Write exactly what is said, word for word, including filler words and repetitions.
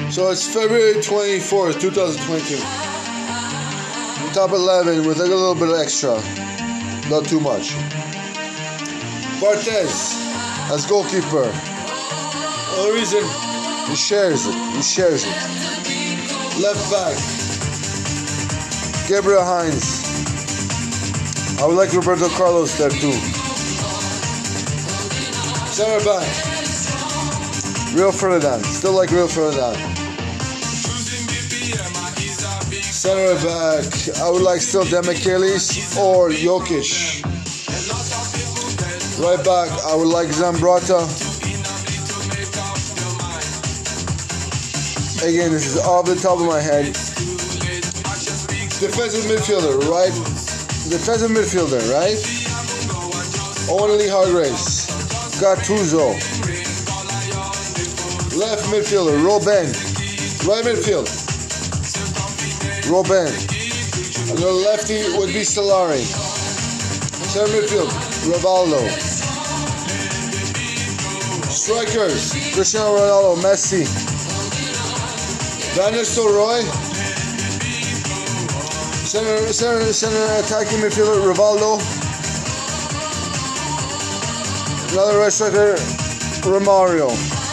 So it's February twenty-fourth, twenty twenty-two. Top eleven with a little bit of extra. Not too much. Barthez as goalkeeper. Only reason he shares it. He shares it. Left back. Gabriel Heinz. I would like Roberto Carlos there too. Center back. Rio Ferdinand. Still like Rio Ferdinand. Center back. I would like still Demichelis or Jokic. Right back. I would like Zambrota. Again, this is off the top of my head. Defensive midfielder, right? Defensive midfielder, right? Owen Lee Hargraves. Gattuso. Left midfielder, Robben. Right midfield, Robben. And the lefty would be Solari. Center midfield, Rivaldo. Strikers, Cristiano Ronaldo, Messi. Van Nistelrooy. Center, center, center attacking midfielder, Rivaldo. Another right striker, Romario.